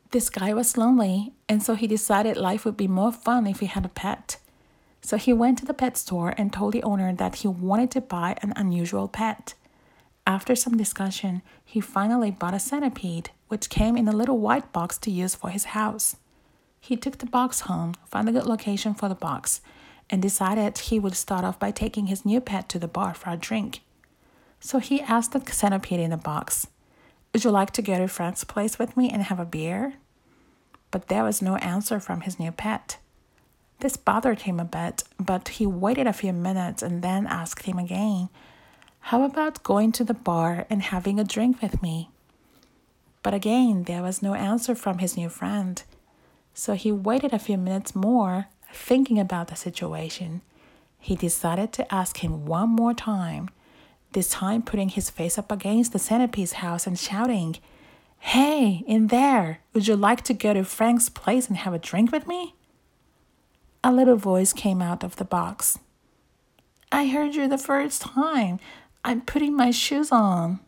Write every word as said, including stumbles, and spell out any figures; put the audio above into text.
This guy was lonely, and so he decided life would be more fun if he had a pet. So he went to the pet store and told the owner that he wanted to buy an unusual pet. After some discussion, he finally bought a centipede, which came in a little white box to use for his house. He took the box home, found a good location for the box, and decided he would start off by taking his new pet to the bar for a drink. So he asked the centipede in the box, "Would you like to go to Frank's place with me and have a beer?" But there was no answer from his new pet. This bothered him a bit, but he waited a few minutes and then asked him again, "How about going to the bar and having a drink with me?" But again, there was no answer from his new friend. So he waited a few minutes more, thinking about the situation. He decided to ask him one more time, this time putting his face up against the centipede's house and shouting, "Hey, in there, would you like to go to Frank's place and have a drink with me?" A little voice came out of the box. "I heard you the first time. I'm putting my shoes on."